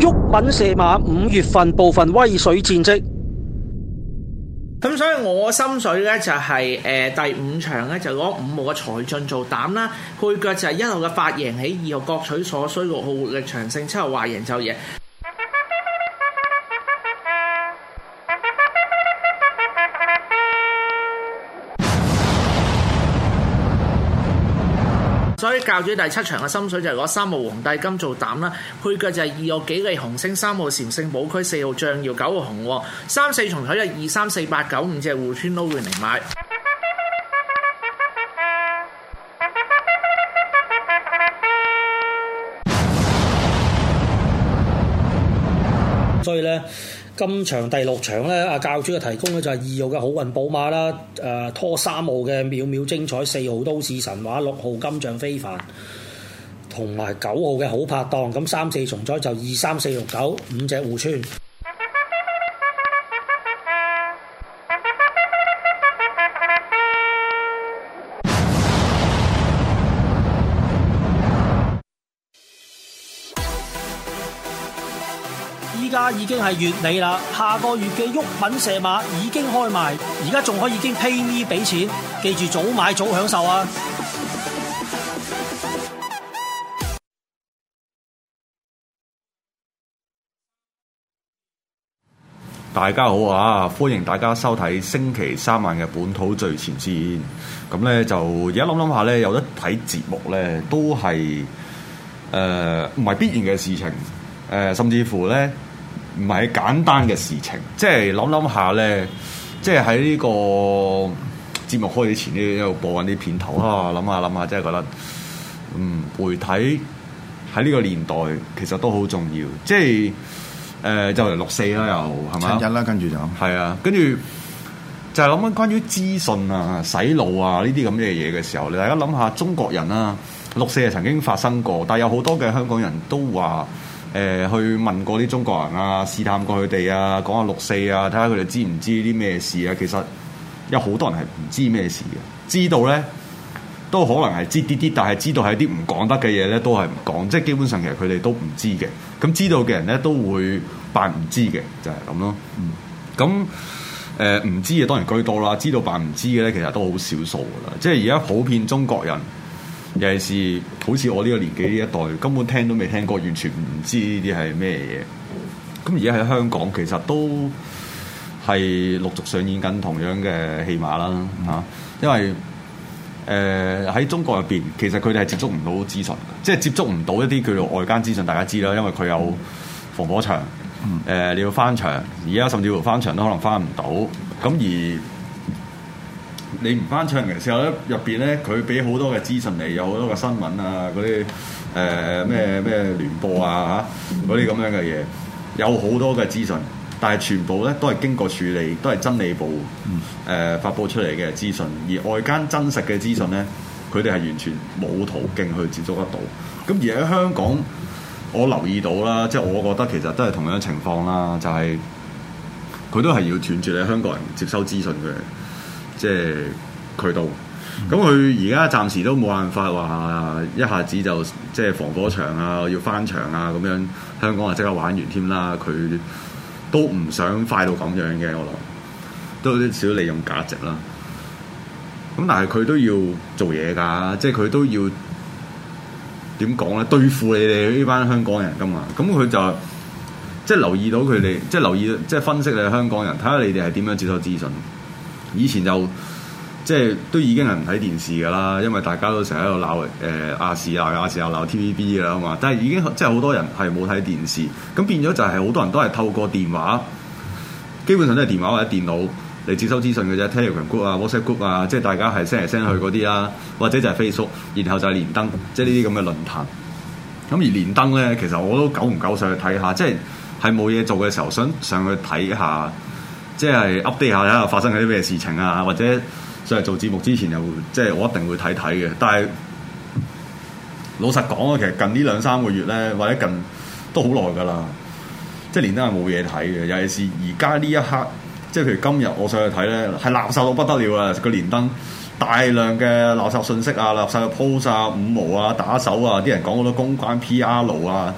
毓民射馬5月份部分威水戰績。 咁所以我心水咧就係、第5場咧就攞5號嘅財進做膽啦，配腳就係1號嘅發贏起，2號各取所需，6號活力長勝，7號話贏就贏。所以教主第7場嘅心水就係攞3號皇帝金做膽啦，配腳就係2號幾利紅星，3號禪聖寶區，4號象耀，9號紅喎，3、4重彩就2、3、4、8、9、5隻互村撈亂嚟買。 所以咧，今場第6場咧，阿教主嘅提供咧就係2號嘅好運寶馬啦，拖3號嘅秒秒精彩，4號都市神話，6號金像非凡，同埋9號嘅好拍檔。咁3、4重彩就2、3、4、6、9 5隻互村。依家已經係月尾啦，下個月嘅毓民射馬已經開賣，而家仲可以經 pay me 俾錢，記住早買早享受啊！ 大家好啊！歡迎大家收睇星期3晚嘅本土最前線。咁咧就而家諗下咧，有得睇節目咧，都係唔係必然嘅事情。甚至乎咧，唔係簡單嘅事情，即係諗下咧，即係喺呢個節目開始前呢，一路播緊啲片頭啊，諗下，即係覺得，媒體喺呢個年代其實都好重要，即係就嚟6/4啦，又係咪？ 7日啦，跟住就係啊，跟住就係諗緊關於資訊啊、洗腦啊呢啲咁嘅嘢嘅時候，你大家諗下中國人啊，6/4係曾經發生過，但係有好多嘅香港人都話。去問過啲中國人啊，試探過佢哋啊，講下6/4啊，睇下佢哋知唔知啲咩事啊。其實有好多人係唔知咩事嘅，知道咧都可能係知啲，但係知道係啲唔講得嘅嘢咧，都係唔講。即係基本上其實佢哋都唔知嘅。咁知道嘅人咧都會扮唔知嘅，就係咁咯。咁唔知嘅當然居多啦，知道扮唔知嘅咧其實都好少數噶啦。即係而家普遍中國人。尤其是好似我呢個年紀呢一代，根本聽都未聽過，完全唔知呢啲係咩嘢。咁而家喺香港其實都係陸續上演緊同樣嘅戲碼啦嚇。因為喺中國入邊，其實佢哋係接觸唔到資訊，即係接觸唔到一啲叫做外間資訊。大家知啦，因為佢有防火牆，你要翻牆，而家甚至乎翻牆都可能翻唔到。咁而你唔翻牆嘅時候咧，入邊咧佢俾好多嘅資訊嚟，有好多嘅新聞啊，嗰啲咩聯播啊嚇，嗰啲咁樣嘅嘢，有好多嘅資訊，但係全部咧都係經過處理，都係真理部發佈出嚟嘅資訊，而外間真實嘅資訊咧，佢哋係完全冇途徑去接觸得到。咁而喺香港，我留意到啦，即係我覺得其實都係同樣情況啦，就係佢都係要斷絕你香港人接收資訊嘅。即係渠道，咁佢而家暫時都冇辦法話一下子就即係防火牆啊，要翻牆啊咁樣，香港啊即刻玩完添啦。佢都唔想快到咁樣嘅，我諗都有啲少利用價值啦。咁但係佢都要做嘢㗎，即係佢都要點講咧？對付你哋呢班香港人㗎嘛。咁佢就即係留意到佢哋，即係留意即係分析你哋香港人，睇下你哋係點樣接收資訊。以前就即係都已經係唔睇電視㗎啦，因為大家都成日喺度鬧亞視又鬧 TVB 㗎啦嘛。但係已經即係好多人係冇睇電視，咁變咗就係好多人都係透過電話，基本上都係電話或者電腦嚟接收資訊嘅啫。Telegram group 啊、WhatsApp group 啊，即係大家係 send 嚟 send 去嗰啲啦，或者就係 Facebook， 然後就係連登，即係呢啲咁嘅論壇。咁而連登咧，其實我都久唔久上去睇下，即係冇嘢做嘅時候，想上去睇下。即係 update 下睇下發生緊啲咩事情啊，或者上嚟做節目之前又即係我一定會睇嘅。但係老實講啊，其實近呢2-3個月咧，或者近都好耐㗎啦。即係連登係冇嘢睇嘅，尤其是而家呢一刻，即係譬如今日我上去睇咧，係垃圾到不得了啊！個連登大量嘅垃圾信息啊、垃圾嘅 post 啊、5毛啊、打手啊，啲人講好多公關 PR 啊。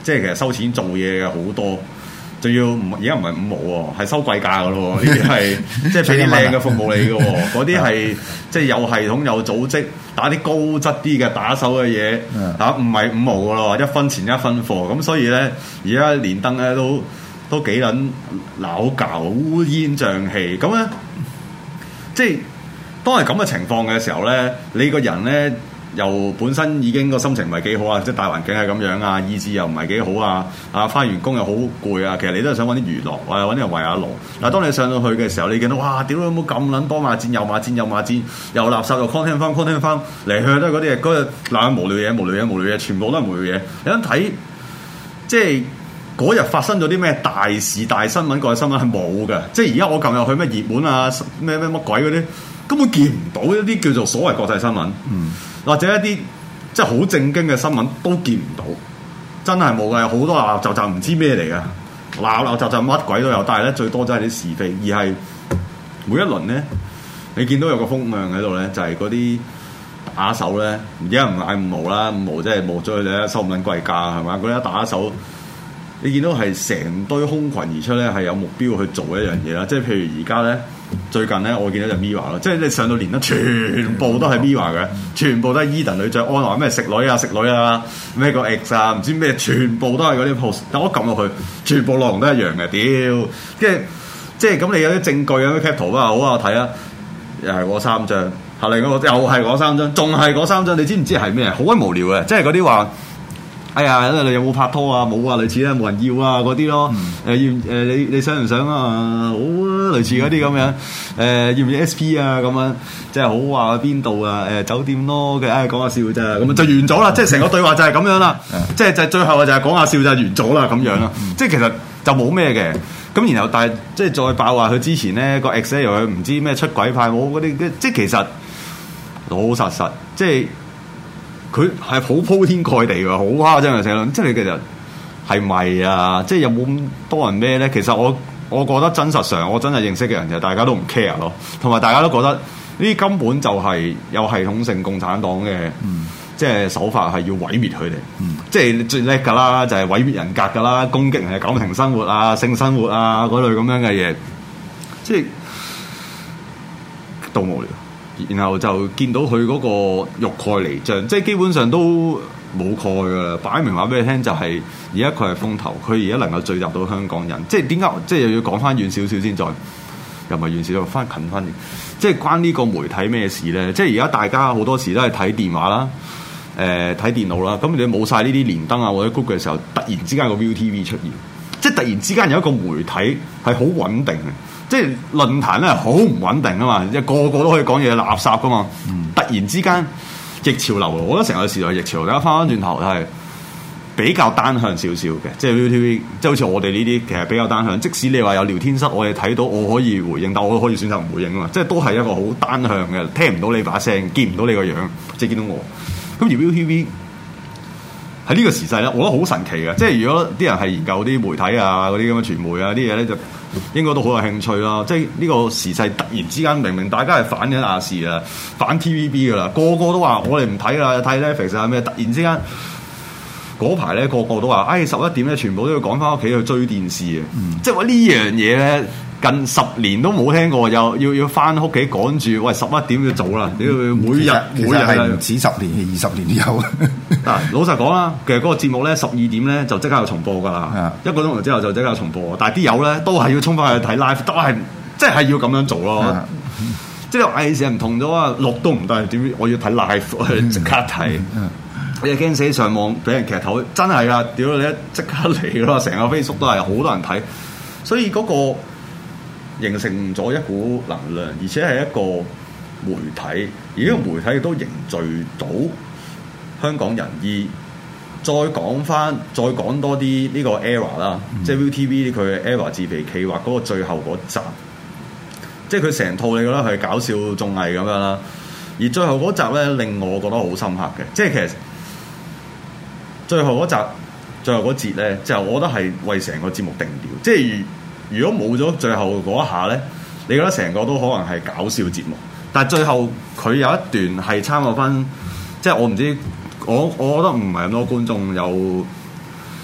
即係其實收錢做嘢嘅好多。仲要而家唔係5毛喎，係收貴價嘅咯喎，呢啲係即係俾啲靚嘅服務你嘅喎，嗰啲係即係有系統有組織，打啲高質啲嘅打手嘅嘢嚇，唔係5毛嘅咯，1分錢1分貨，咁所以咧而家連登咧都幾撚鬧交烏煙瘴氣，咁咧即係當係咁嘅情況嘅時候咧，你個人咧。又本身已經個心情唔係幾好啊，即係大環境係咁樣啊，意志又唔係幾好啊，返完工又好攰啊，其實你都係想揾啲娛樂，或者揾啲人圍下爐。但係當你上到去嘅時候，你見到哇，屌你有冇咁撚多罵戰，又罵戰又罵戰，又垃圾又 content 翻嚟去都係嗰啲嘢，嗰日嗱無聊嘢，全部都係無聊嘢。你一睇即係嗰日發生咗啲咩大事大新聞，個新聞係冇嘅。即係而家我撳入去咩熱門啊，咩乜鬼嗰啲，根本見唔到一啲叫做所謂國際新聞。或者一啲即係好正經嘅新聞都見唔到，真係冇嘅，好多鬧鬧雜雜唔知咩嚟嘅，鬧鬧雜雜乜鬼都有，但係咧最多真係啲是非，而係每一輪咧，你見到有個風向喺度咧，就係嗰啲打手咧，而家唔嗌5毛啦，5毛即係冇咗佢哋收唔撚貴價係嘛？嗰啲打手，你見到係成堆空群而出咧，係有目標去做一樣嘢啦，即係譬如而家咧。最近咧，我見到就 Mirror 咯，即係你上到連得全部都係 Mirror 嘅，全部都係 Eden 女將安話咩食女啊，咩個 X 啊，唔知咩，全部都係嗰啲 post。但我撳落去，全部內容都一樣嘅，屌！跟住即係咁，你有啲證據有啲 cap 圖啊，好啊，睇啊，又係嗰3張，後嚟嗰個又係嗰3張，仲係嗰3張，你知唔知係咩？好鬼無聊嘅，即係嗰啲話。哎呀，你有冇拍拖啊？冇啊，類似咧，冇人要啊嗰啲咯。你想唔想啊？好啊，類似嗰啲咁樣。要唔要 SP 啊？咁樣即係好話邊度啊？酒店咯嘅，講下笑咋，咁啊就完咗啦。即係成個對話就係咁樣啦。即係就最後就係講下笑就完咗啦咁樣啦。即係其實就冇咩嘅。咁然後但係即係再爆話佢之前咧個 ex 又佢唔知咩出軌派冇嗰啲，即係其實老實即係。佢係好鋪天蓋地㗎，好誇張嘅社論，即係你其實係咪啊？即係有冇咁多人咩咧？其實我覺得真實上，我真係認識嘅人就大家都唔 care 咯，同埋大家都覺得呢啲根本就係有系統性共產黨嘅，即係手法係要毀滅佢哋，即係你最叻㗎啦，就係毀滅人格㗎啦，攻擊人嘅感情生活啊、性生活啊嗰類咁樣嘅嘢，即係都無聊。然後就見到佢嗰個欲蓋彌彰，即係基本上都冇蓋噶啦，擺明話俾你聽就係而家佢係風頭，佢而家能夠聚集到香港人，即係點解？即係又要講翻遠少少先，再又唔係遠少少，翻近翻啲，即係關呢個媒體咩事咧？即係而家大家好多時都係睇電話啦，睇電腦啦，咁你冇晒呢啲連登啊或者 Google 嘅時候，突然之間個 ViuTV 出現，即係突然之間有一個媒體係好穩定嘅。即係論壇咧，好唔穩定啊嘛！即係個個都可以講嘢垃圾噶嘛。突然之間逆潮流，我覺得成個時代逆潮流。大家翻返轉頭係比較單向少少嘅，即係 ViuTV，即係好似我哋呢啲其實比較單向。即使你話有聊天室，我哋睇到我可以回應，但我可以選擇唔回應啊嘛。即係都係一個好單向嘅，聽唔到你把聲，見唔到你個樣，即係見到我。咁而 ViuTV 喺呢個時勢咧，我覺得好神奇嘅。即係如果啲人係研究啲媒體啊、嗰啲咁嘅傳媒啊啲嘢咧，就應該都好有興趣啦。即係呢個時勢突然之間，明明大家係反緊亞視啊、反 TVB 噶啦，個個都話我哋唔睇啦，睇 Netflix 啊咩。突然之間嗰排咧，個個都話11點咧，全部都要趕翻屋企去追電視啊！即係話呢樣嘢咧，近10年都冇聽過，又要翻屋企趕住，喂11點要做啦！你要每日係唔止10年，20年都有。 嗱，老實講啦，其實嗰個節目咧12點咧就即刻有重播㗎啦，一個鐘頭之後就即刻有重播。但係啲友咧都係要衝翻去睇 live，都係即係要咁樣做咯。即係藝事唔同咗啊，錄都唔得，點我要睇 live 即刻睇。你又驚死上網俾人劇透，真係啊！屌你一即刻嚟咯，成個 Facebook 都係好多人睇，所以嗰個形成咗一股能量，而且係一個媒體，而呢個媒體亦都凝聚到香港人。而再講多啲呢個 ERROR 啦，即係 ViuTV 佢嘅 ERROR 自肥企劃嗰個最後嗰集，即係佢成套你覺得係搞笑綜藝咁樣啦。而最後嗰集咧令我覺得好深刻嘅，即係其實最後嗰節咧，就我覺得係為成個節目定調。即係如果冇咗最後嗰一下咧，你覺得成個都可能係搞笑節目。但係最後佢有一段係參考翻，即係我唔知，我覺得唔係咁多觀眾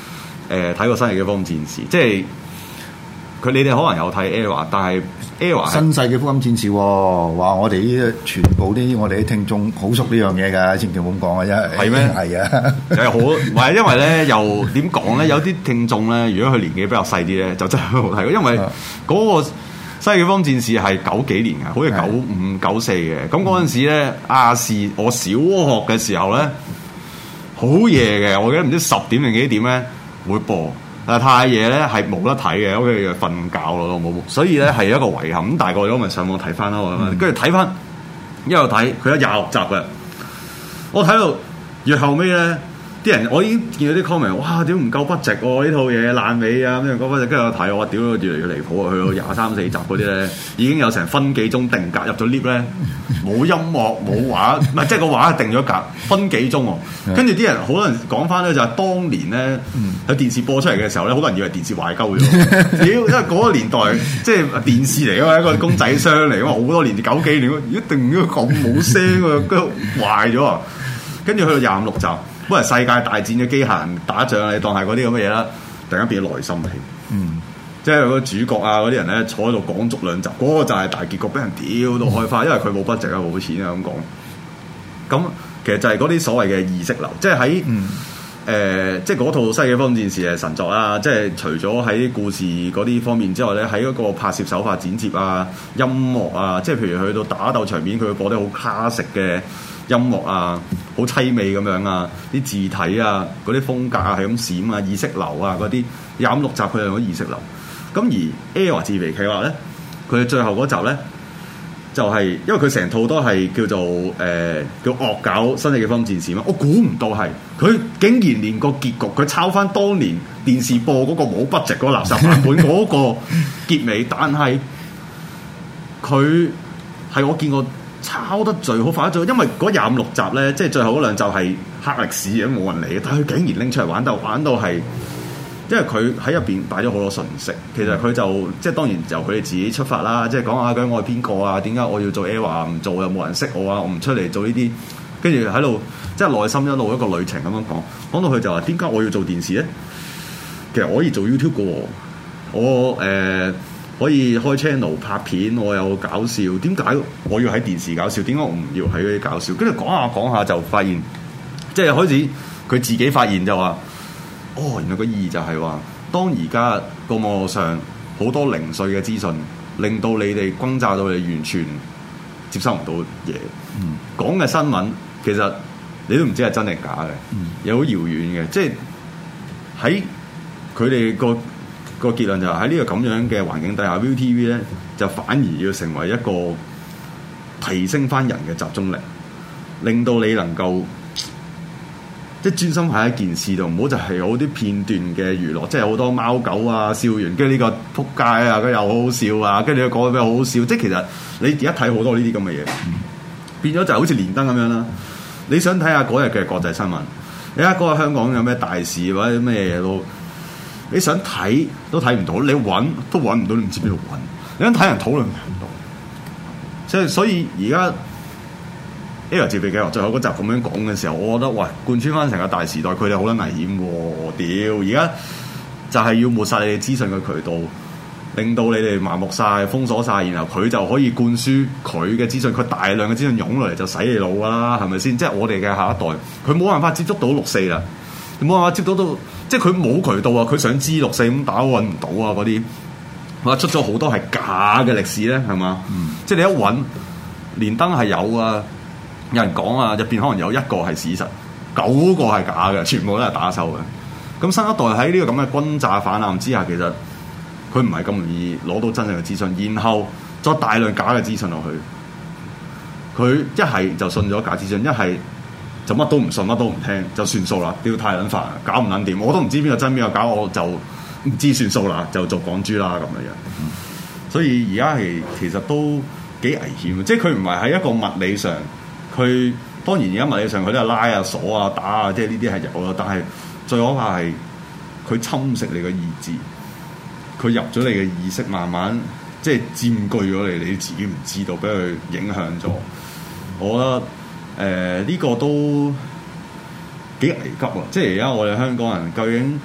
睇過新世紀福音戰士，即係你哋可能有睇 ERROR， 但係 ERROR 新世紀福音戰士喎，話我哋呢全部我哋啲聽眾好熟呢樣嘢㗎，千祈唔好咁講啊，因為係咩？ 係啊， 係好，唔係因為咧又點講咧？有啲聽眾咧，如果佢年紀比較細啲咧，就真係好睇，因為嗰個新世紀福音戰士係90幾年嘅，好似95、94嘅。咁嗰陣時咧，亞視我小學嘅時候咧，好夜嘅，我記得唔知10點定幾點咧會播。但係太夜咧係冇得睇嘅，屋企就瞓覺咯，冇。所以咧係一個遺憾。咁大個咗咪上網睇翻咯，跟住睇翻一路睇，佢有26集嘅。我睇到越後尾咧，啲人我已經見到啲 comment， 哇！屌唔夠budget喎，呢套嘢爛尾啊咁樣講翻，跟住我睇我話屌越嚟越離譜啊！去到23、4集嗰啲咧，已經有成分幾鐘定格入咗 lift 咧，冇音樂冇畫，唔係即係個畫定咗格分幾鐘喎。跟住啲人好多人講翻咧，就係當年咧喺電視播出嚟嘅時候咧，好多人以為電視壞鳩咗。屌，因為嗰個年代即係電視嚟㗎嘛，一個公仔箱嚟㗎嘛，好多年90幾年，一定要咁冇聲啊，跟住壞咗啊！跟住去到25、6集。本來世界大戰嘅機械人打仗，你當係嗰啲咁嘅嘢啦，突然間變咗內心戲。即係個主角啊嗰啲人咧坐喺度講足2集，嗰個就係大結局，俾人屌到開花，因為佢冇budget啊，冇錢啊咁講。咁其實就係嗰啲所謂嘅意識流，即係喺即係嗰套《西嘅方戰士》係神作啦。即係除咗喺故事嗰啲方面之外咧，喺嗰個拍攝手法、剪接啊、音樂啊，即係譬如去到打鬥場面，佢會播啲好 classic 嘅音樂啊，好凄美咁樣啊，啲字體啊，嗰啲風格啊係咁閃啊，意識流啊嗰啲25、6集佢用咗意識流。咁而 ERROR 自肥企劃咧，佢最後嗰集咧就係、是、因為佢成套都係叫做叫惡搞新世紀福音戰士嘛，我估唔到係佢竟然連個結局佢抄翻當年電視播嗰個冇 budget 嗰個垃圾版本嗰個結尾，但係佢係我見過抄得最好快得最好，因為嗰25、6集咧，即係最後嗰2集係黑歷史嘅，冇人理嘅，但係佢竟然拎出嚟玩到係。因為佢喺入邊擺咗好多信息，其實佢就即係當然由佢哋自己出發啦，即係講下究竟我係邊個啊？點解我要做 ERROR 唔做又冇人識我啊？我唔出嚟做呢啲，跟住喺度即係內心一路一個旅程咁樣講到佢就話點解我要做電視咧？其實我可以做 YouTube 嘅喎，我可以開 channel 拍片，我有搞笑，點解我要喺電視搞笑？點解我唔要喺嗰啲搞笑？跟住講下就發現，即係開始佢自己發現就話。原來個意義就係話，當而家個網絡上好多零碎嘅資訊，令到你哋轟炸到你完全接收唔到嘢。講嘅新聞其實你都唔知係真定假嘅，又好遙遠嘅。即係喺佢哋個結論就係喺呢個咁樣嘅環境底下 ，ViuTV 咧就反而要成為一個提升翻人嘅集中力，令到你能夠。即係專心喺一件事度，唔好就係有啲片段嘅娛樂，即係好多貓狗啊笑完，跟住呢個撲街啊，佢又好好笑啊，跟住佢講咩好好笑，即係其實你而家睇好多呢啲咁嘅嘢，變咗就好似連登咁樣啦。你想睇下嗰日嘅國際新聞，你睇下嗰日香港有咩大事或者咩嘢都，你想睇都睇唔到，你揾都揾唔到，你唔知邊度揾。你想睇人討論唔到，即係所以而家。ERROR 自肥計劃最後嗰集咁樣講嘅時候，我覺得喂，貫穿翻成個大時代，佢哋好撚危險喎！屌，而家就係要抹殺你哋資訊嘅渠道，令到你哋麻木晒、封鎖晒，然後佢就可以灌輸佢嘅資訊，佢大量嘅資訊湧落嚟就洗你腦㗎啦，係咪先？即係我哋嘅下一代，佢冇辦法接觸到6·4啦，冇辦法接觸到，即係佢冇渠道啊！佢想知6·4咁打揾唔到啊！嗰啲我出咗好多係假嘅歷史咧，係嘛？即係你一揾連登係有啊。有人講啊，入邊可能有1個係事實，9個係假嘅，全部都係打手嘅。咁新一代喺呢個咁嘅轟炸反彈之下，其實佢唔係咁容易攞到真正嘅資訊，然後再大量假嘅資訊落去，佢一係就信咗假資訊，一係就乜都唔信，乜都唔聽，就算數啦。屌太撚煩，搞唔撚掂，我都唔知邊個真邊個假，我就唔知算數啦，就做港豬啦咁樣。所以而家係其實都幾危險，即係佢唔係喺一個物理上。佢當然而家物理上佢都係拉啊鎖啊打啊，即係呢啲係有咯。但係最可怕係佢侵蝕你嘅意志，佢入咗你嘅意識，慢慢即係佔據咗你，你自己唔知道，俾佢影響咗。我覺得呢個都幾危急啊！即係而家我哋香港人究竟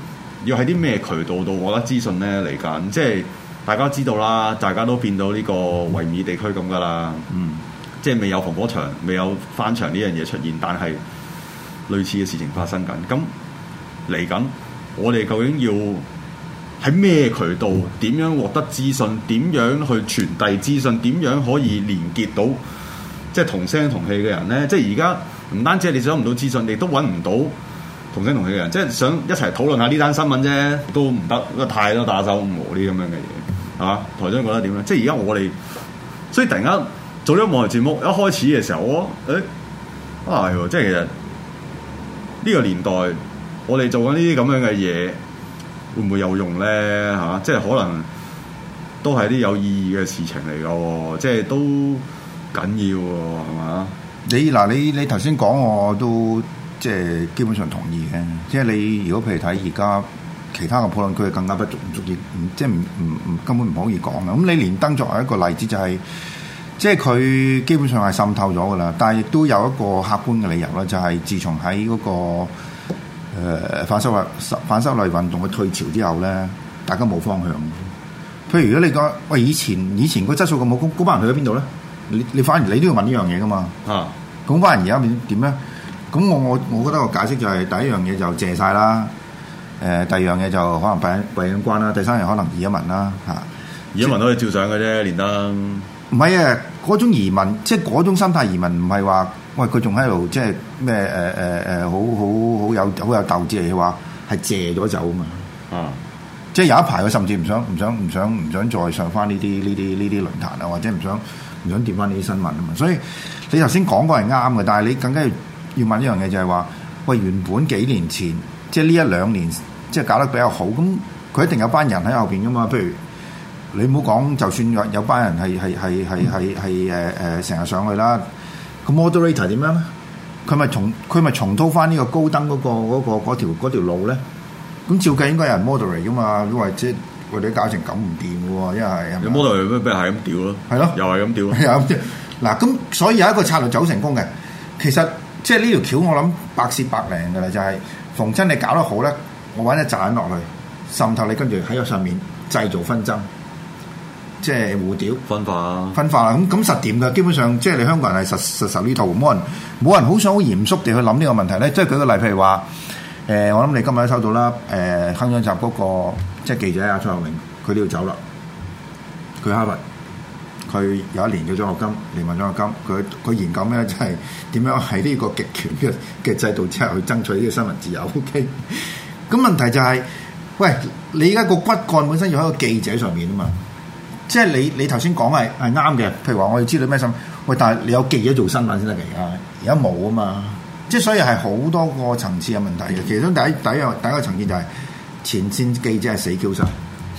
要喺啲咩渠道度獲得資訊咧？嚟緊即係大家知道啦，大家都變到呢個維爾地區咁噶啦。即係未有防火牆、未有翻牆呢樣嘢出現，但係類似嘅事情發生緊。咁嚟緊，我哋究竟要喺咩渠道？點樣獲得資訊？點樣去傳遞資訊？點樣可以連結到即係同聲同氣嘅人咧？即係而家唔單止係你想唔到資訊，你都揾唔到同聲同氣嘅人。即係想一齊討論下呢單新聞啫，都唔得，因為太多打手唔和啲咁樣嘅嘢，係嘛？台長覺得點咧？即係而家我哋，所以突然間做咗網台節目，一開始嘅時候，我係即係其實呢個年代，我哋做緊呢啲咁樣嘅嘢，會唔會有用咧？嚇，即係可能都係啲有意義嘅事情嚟嘅喎，即係都緊要喎，係嘛？ 你頭先講我都即係基本上同意嘅，即係你如果譬如睇而家其他嘅討論區，更加不足以，即係根本唔可以講嘅。咁你連登作為一個例子就係、是。即係佢基本上係滲透咗㗎啦，但係亦都有一個客觀嘅理由啦，就係、是、自從喺嗰、那個反修例運動嘅退潮之後咧，大家冇方向。譬如如果你講喂以前個質素咁好，嗰班人去咗邊度咧？你反而你都要問呢樣嘢㗎嘛？啊，咁班人而家點咧？咁我覺得個解釋就係、是、第一樣嘢就謝晒啦，第二樣嘢就可能閉緊關啦，第三樣可能移民啦嚇。移民都可以照相嘅啫，連登。唔係啊！嗰種移民，即係嗰種心態移民，唔係話喂佢仲喺度，即係咩好有鬥志嚟嘅話，係借咗走啊嘛！啊！即係有一排佢甚至唔想再上翻呢啲論壇啊，或者唔想掂翻呢啲新聞啊嘛！所以你頭先講過係啱嘅，但係你更加要問一樣嘢就係話，喂原本幾年前即係呢一兩年即係搞得比較好，咁佢一定有班人喺後邊噶嘛？譬如你唔好講，就算有班人係成日上去啦，個 moderator 點樣咧？佢咪重蹈翻呢個高登嗰條路咧？咁照計應該有人 moderate 噶嘛？因為即係我哋搞成咁唔掂嘅喎，因為有 moderator 咩俾人係咁屌咯？係咯，又係咁屌。嗱咁，所以有一個策略走成功嘅，其實即係呢條橋我諗百試百靈嘅啦，就係逢親你搞得好咧，我揾一紮人落去滲透你，跟住喺個上面製造紛爭。即係互屌分化啦，咁實掂㗎。基本上即係你香港人係實呢套，冇人好想好嚴肅地去諗呢個問題咧。即係舉個例，譬如話我諗你今日都收到啦。鏗鏘集嗰個即係記者阿蔡學明，佢都要走啦。佢哈佛，佢有1年嘅獎學金，連埋獎學金。佢研究咩咧？就係點樣喺呢個極權嘅制度之下去爭取呢個新聞自由。OK，咁問題就係、是，喂，你而家個骨幹本身要喺個記者上面啊嘛。即係你頭先講係啱嘅，譬如話我哋知道咩新聞，喂，但係你有記者做新聞先得嘅，而家冇啊嘛，即係所以係好多個層次嘅問題嘅。其中第一個層次就係前線記者係死 Q 晒，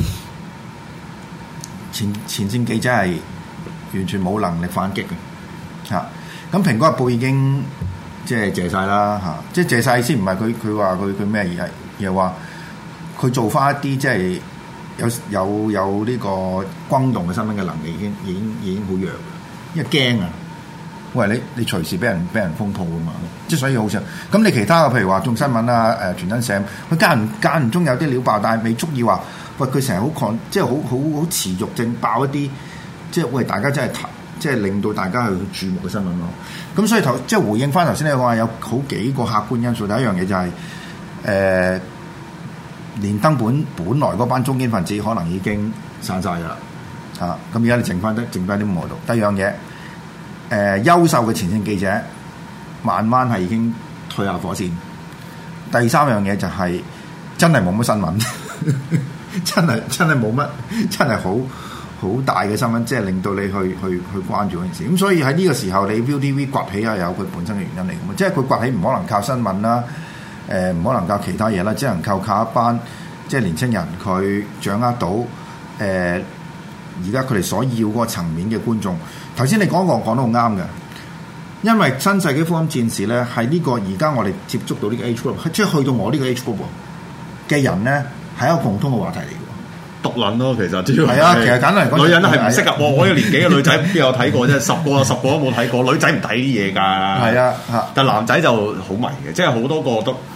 前線記者係完全冇能力反擊嘅嚇。咁蘋果日報已經即係謝晒啦嚇，即係謝晒先，唔係佢話佢咩而係又話佢做翻一啲即係。有呢個轟動嘅新聞嘅能力已經好弱，因為驚啊！喂，你隨時俾人封鋪啊嘛，即係所以好少。咁你其他嘅譬如話眾新聞啊、傳真社，佢間唔中有啲料爆，但係未足以話喂佢成日好即係好持續性爆一啲，即係喂大家真係即係令到大家去注目嘅新聞咯。咁所以即係回應翻頭先你講話有好幾個客觀因素，第一樣嘢就係連登本來嗰班中堅分子可能已經散晒㗎啦，咁而家你剩翻啲冇度。第二樣嘢，優秀嘅前線記者慢慢係已經退下火線。第三樣嘢就係真係冇乜新聞，真係冇乜，真係好大嘅新聞，即係令到你去關注嗰件事。咁所以喺呢個時候，你 ViuTV 崛起啊，有佢本身嘅原因嚟㗎嘛，即係佢崛起唔可能靠新聞啦。唔可能靠其他嘢啦，只能靠一班即係年青人，佢掌握到而家佢哋所要嗰個層面嘅觀眾。頭先你講得好啱嘅，因為新世紀福音戰士咧係呢個而家我哋接觸到呢個 age group， 即係去到我呢個 age group 嘅人咧係一個共通嘅話題嚟嘅。 獨撚咯，其實主要係啊，其實簡單嚟講， 女人係唔適合我。我呢個年紀嘅女仔邊有睇過啫？10個都冇睇過。女仔唔睇啲嘢㗎。係啊，但男仔就好迷嘅，即係好多個都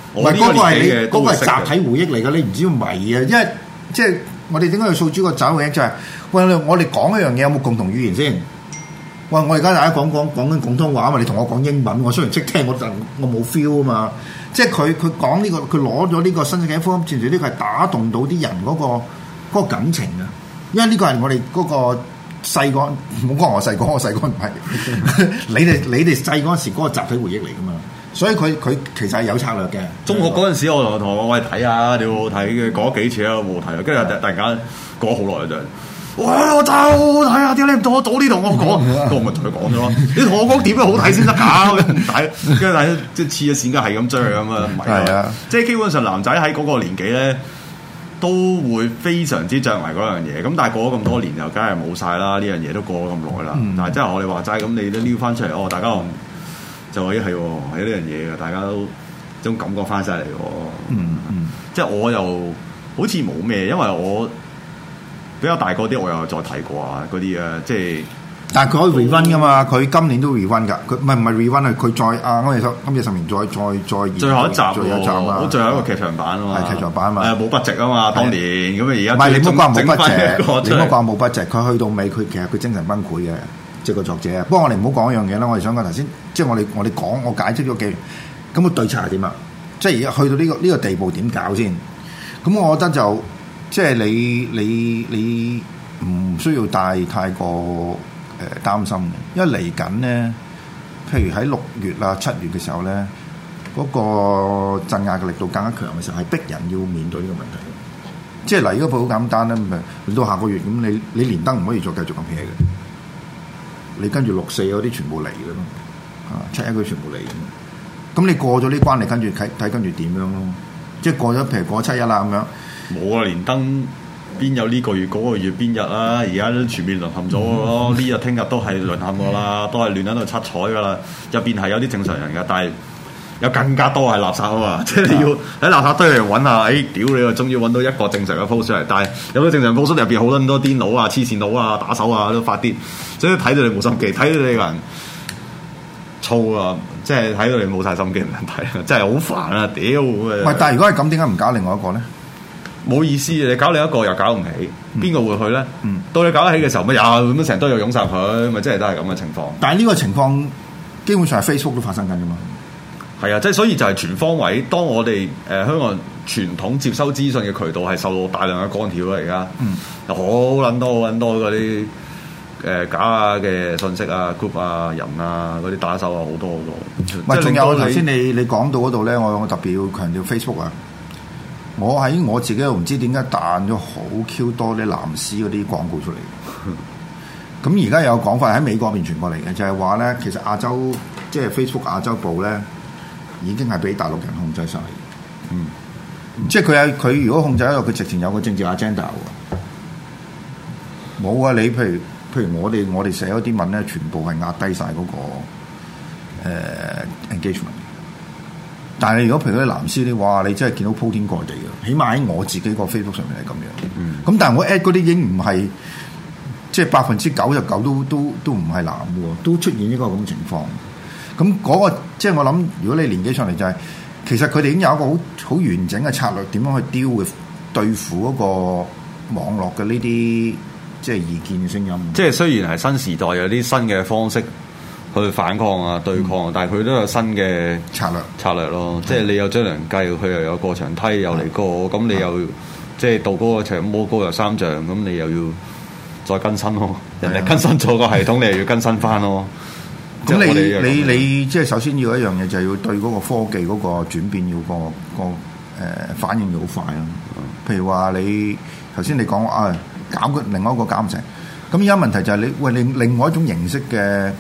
唔係嗰個係你嗰個係集體回憶嚟㗎，你唔知要迷啊，因為即係我哋點解要訴諸個集體回憶就係，喂，我哋講一樣嘢有冇共同語言先？喂，我而家大家講緊廣東話嘛，你同我講英文，我雖然識聽，我冇 feel 啊嘛。即係佢講呢個，佢攞咗呢個新世紀福音戰士，呢個係打動到啲人嗰個感情啊。因為呢個係我哋嗰個細個，唔好講我細個唔係，你哋細嗰陣時嗰個集體回憶嚟㗎嘛。所以佢其實係有策略嘅。 中學嗰陣時，我同我喂睇下，你好好睇嘅，講咗幾次啦，冇睇啊。跟住突然間過咗好耐就。哇！我就睇下點解你唔早啲同我講，我咪同佢講咗咯。你同我講點樣好睇先得㗎？跟住睇，即係黐咗線，梗係咁追咁啊！唔係啊，即係基本上男仔喺嗰個年紀咧，都會非常之着迷嗰樣嘢。咁但係過咗咁多年，就梗係冇晒啦。呢樣嘢都過咗咁耐啦。但係即係我哋話齋，咁你都撩翻出嚟，哦，大家就話咦係呢樣嘢嘅，大家都種感覺翻晒嚟喎。即係我又好似冇咩，因為我。比較大個啲，我又再睇過啊嗰啲啊，即係， 但係佢可以 rerun 噶嘛？佢今年都 rerun 㗎，佢唔係 rerun 啊！佢再今夜10年再最後一集啊！ 好，最後一個劇場版啊嘛， 係劇場版啊嘛， 冇budget啊嘛，當年咁啊而家唔係你唔好話冇budget，你唔好話冇 budget，佢去到尾佢其實佢精神崩潰嘅，即係個作者。不過我哋唔好講一樣嘢啦，我哋想講頭先，即係我哋講我解釋咗幾，咁個對策係點啊？即係而家去到呢個地步點搞先？咁我覺得就。即係你唔需要太過擔心嘅，因為嚟緊咧，譬如喺6月啊、7月嘅時候咧，嗰個鎮壓嘅力度更加強嘅時候，係逼人要面對呢個問題。即係嗱，如果佢好簡單咧，咪到下個月咁，你連登唔可以再繼續咁 hea 嘅，你跟住6、4嗰啲全部嚟嘅咯，7、1嗰啲全部嚟嘅。咁你過咗呢關，你跟住睇跟住點樣咯？即係過咗，譬如過7、1啦咁樣。 冇啊！連登邊有呢個月嗰個月邊日啊？而家都全面淪陷咗咯！呢日聽日都係淪陷噶啦，都係亂喺度七彩噶啦。入邊係有啲正常人噶，但係有更加多係垃圾啊嘛！即係你要喺垃圾堆嚟揾下，屌你啊！終於揾到一個正常嘅 post 出嚟，但係有啲正常 post 入邊好多咁多癲佬啊、黐線佬啊、打手啊都發啲，所以睇到你冇心機，睇到你個人燥啊！即係睇到你冇晒心機唔睇，真係好煩啊！屌！ 喂，但係如果係咁，點解唔搞另外一個咧？ 冇意思，你搞另一個又搞唔起，邊個會去咧？到你搞得起嘅時候，乜又咁成堆又湧晒佢，咪即係都係咁嘅情況。 但係呢個情況基本上係 Facebook 都發生緊㗎嘛。係啊，即係所以就係全方位。當我哋香港傳統接收資訊嘅渠道係受到大量嘅干擾啦，而家好撚多嗰啲假嘅信息啊、group 啊、人啊、嗰啲打手啊，好多好多。 唔係，仲有頭先你講到嗰度咧，我特別要強調 Facebook 啊。我喺我自己又唔知點解彈咗好 Q 多啲藍絲嗰啲廣告出嚟。咁而家有講法喺美國邊傳過嚟嘅，就係話咧，其實亞洲即係 Facebook 亞洲部咧，已經係俾大陸人控制晒。即係佢如果控制喺度，佢直情有個政治 agenda 喎。冇啊！你譬如我哋寫嗰啲文咧，全部係壓低晒嗰個engagement。但係如果譬如嗰啲藍絲啲話，你真係見到鋪天蓋地嘅，起碼喺我自己個 Facebook 上面係咁樣。咁但係我 at 嗰啲已經唔係即係99%都唔係藍喎，都出現呢個咁嘅情況。咁嗰個即係我諗，如果你年紀上嚟就係，其實佢哋已經有一個好完整嘅策略，點樣去 deal with 對付嗰個網絡嘅呢啲即係意見嘅聲音。 即係雖然係新時代有啲新嘅方式去反抗啊、對抗，但係佢都有新嘅策略咯。即係你有張良計，佢又有過牆梯又嚟過，咁你又即係到嗰個長魔高又3丈，咁你又要再更新咯。人哋更新咗個系統，你又要更新翻咯。 咁你即係首先要一樣嘢，就係要對嗰個科技嗰個轉變要個反應要好快咯。譬如話你頭先你講搞另外一個搞唔成，咁而家問題就係你另外一種形式嘅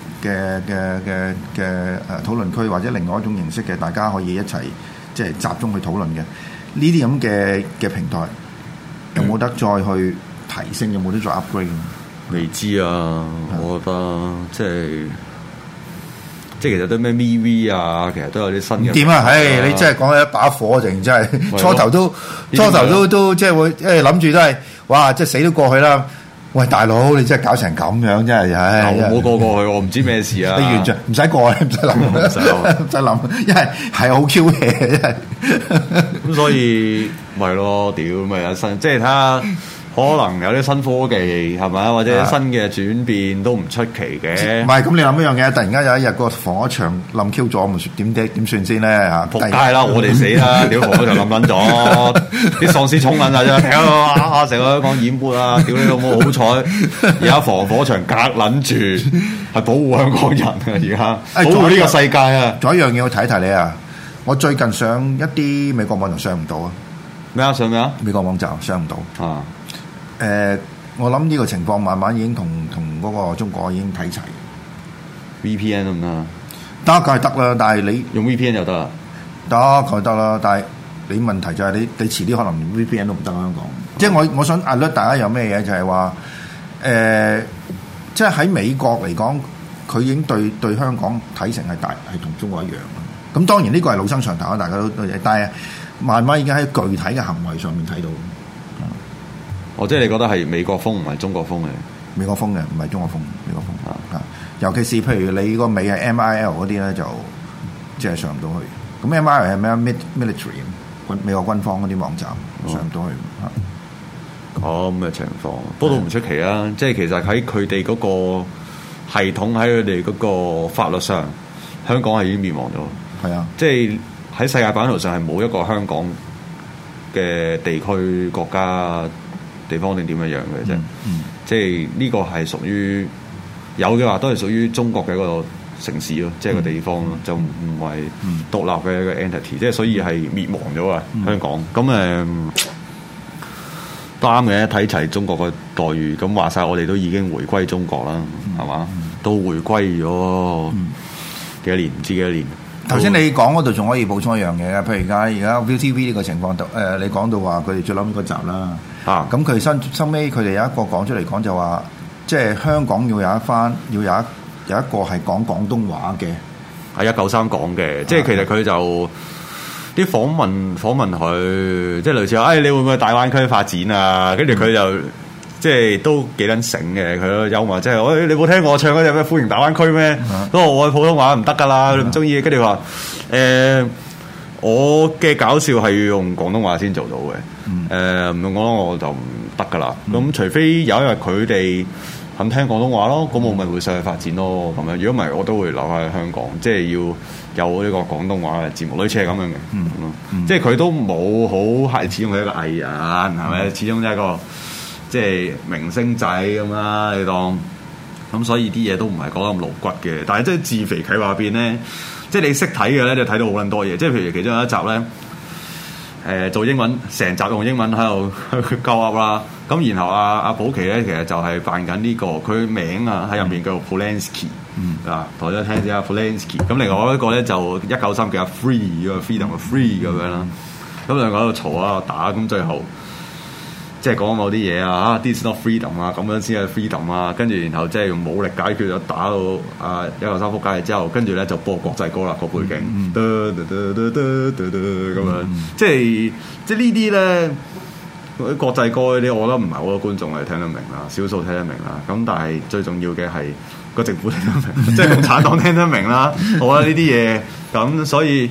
討論區，或者另外一種形式嘅大家可以一齊即係集中去討論嘅呢啲咁嘅平台，有冇得再去提升？有冇得再 upgrade？ 未知啊，我覺得即係其實都咩 MeWe 啊，其實都有啲新嘅。點啊？ 你真係講起一把火，淨真係初頭都即係會，諗住都係哇，即係死都過去啦。 喂，大佬，你真係搞成咁樣，真係，唉！ 我冇過去，我唔知咩事啊！ 你完全唔使過，唔使諗，唔使諗，因為係好 Q 嘅，真係。 咁所以咪咯，屌咪有新，即係睇下。可能有啲新科技係咪，或者新嘅轉變都唔出奇嘅。 唔係咁，你諗一樣嘢，突然間有一日個防火牆冧 Q 咗，咪點算先咧嚇？ 仆街啦！我哋死啦！屌防火牆冧撚咗，啲喪屍衝撚曬啫！哇！成個香港淹沒啊！屌你老母！好彩而家防火牆隔撚住，係保護香港人啊！而家保護呢個世界啊！ 仲有一樣嘢我提一提你啊！我最近上一啲美國網站上唔到啊！ 咩啊？上咩啊？ 美國網站上唔到啊！ 我諗呢個情況慢慢已經同嗰個中國已經睇齊。 VPN 得唔得啊？ 得梗係得啦，但係你用 VPN 就得啦。 得梗係得啦，但係你問題就係你遲啲可能連 VPN 都唔得香港。即係我想 alert 大家有咩嘢就係話即係喺美國嚟講，佢已經對香港睇成係同中國一樣。咁當然呢個係老生常談，大家都但係慢慢已經喺具體嘅行為上面睇到。 即係你覺得係美國風唔係中國風嘅？ 美國風嘅，唔係中國風。美國風啊，尤其是譬如你個尾係 MIL 嗰啲咧，就即係上唔到去。咁 MIL 係咩 military 美國軍方嗰啲網站上唔到去。 咁嘅情況，不過都唔出奇啊！即係其實喺佢哋嗰個系統，喺佢哋嗰個法律上，香港係已經滅亡咗。 係啊， 即係喺世界版圖上係冇一個香港嘅地區國家。地方定點樣樣嘅啫，即係呢個係屬於有嘅話，都係屬於中國嘅一個城市咯，即係個地方咯，就唔係獨立嘅一個 entity，即係所以係滅亡咗啊！香港咁啱嘅，睇齊中國嘅待遇，咁話晒我哋都已經回歸中國啦，係嘛？都回歸咗幾多年？唔知幾多年。 頭先你講嗰度仲可以補充一樣嘢嘅，譬如而家 ViuTV 呢個情況，你講到話佢哋最撚嗰集啦。咁佢收尾佢哋有一個講出嚟講就話，即係香港要有一個係講廣東話嘅， 係193講嘅，即係其實佢就啲訪問佢，即係類似話，你會唔會去大灣區發展啊？跟住佢就即係都幾撚醒嘅，佢都幽默，即係你冇聽我唱嗰隻咩歡迎大灣區咩？都話我普通話唔得噶啦，你唔中意，跟住話我嘅搞笑係要用廣東話先做到嘅。唔用廣東話我就唔得噶啦。咁除非有一日佢哋肯聽廣東話咯，咁我咪會上去發展咯。咁樣如果唔係，我都會留喺香港，即係要有呢個廣東話嘅節目，類似係咁樣嘅。即係佢都冇好係，始終係一個藝人，係咪？始終係一個即係明星仔咁啦，你當咁，所以啲嘢都唔係講得咁露骨嘅。但係即係自肥企話入邊咧，即係你識睇嘅咧，就睇到好撚多嘢。即係譬如其中有一集咧，做英文成集用英文喺度鳩噏啦。咁然後阿寶琪咧，其實就係扮緊呢個佢名啊喺入面叫做 Polanski 啊，同大家聽下 Polanski。咁另外一個咧就193叫阿 Free 個 Freedom 嘅 Free 咁樣啦。咁兩個喺度嘈喺度打，咁最後即係講某啲嘢啊，This is not freedom 啊，咁樣先係 freedom 啊。跟住然後即係用武力解決咗，打到193撲街之後，跟住咧就播國際歌啦，個背景，咁樣，即係呢啲咧。啲國際歌嗰啲，我覺得唔係好多觀眾係聽得明啦，少數聽得明啦。咁但係最重要嘅係個政府聽得明，即係共產黨聽得明啦。我覺得呢啲嘢咁，所以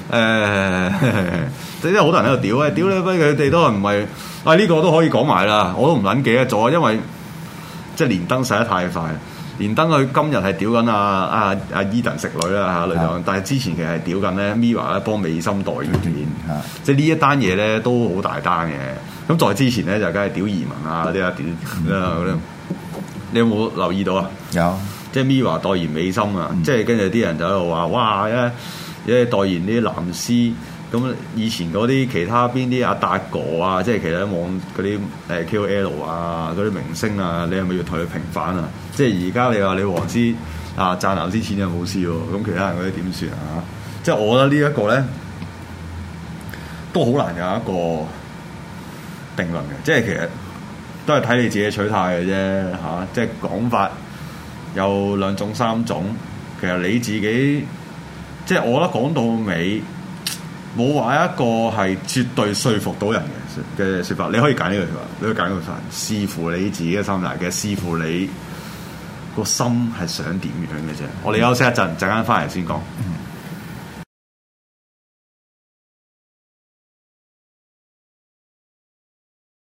即係好多人喺度屌你不佢哋都唔係呢個都可以講埋啦。我都唔撚記得咗，因為即係連登洗得太快。連登佢今日係屌緊阿 Eden 食女啦嚇，但係之前其實係屌緊咧 Mirror 咧幫美心代言，即係呢一單嘢咧都好大單嘅。咁在之前咧就梗係屌移民啊嗰啲啲，你有冇留意到啊？ 有， 即係 Mirror 代言美心啊，即係跟住啲人就喺度話哇代言啲藍絲。咁以前嗰啲其他邊啲阿達哥啊，即係其他網嗰啲KOL 啊，嗰啲明星啊，你係咪要同佢平反啊？即係而家你話你黃絲啊賺藍絲錢就冇事喎，咁其他人嗰啲點算啊？即係我覺得呢一個咧都好難有一個定論嘅，即係其實都係睇你自己取態嘅啫嚇。即係講法有兩種三種，其實你自己即係我覺得講到尾。冇話一個係絕對說服到人嘅， 嘅説法，你可以揀呢個説法，你可以揀呢個説法，視乎你自己嘅心態嘅，視乎你個心係想點樣嘅啫。我哋休息一陣，陣間翻嚟先講。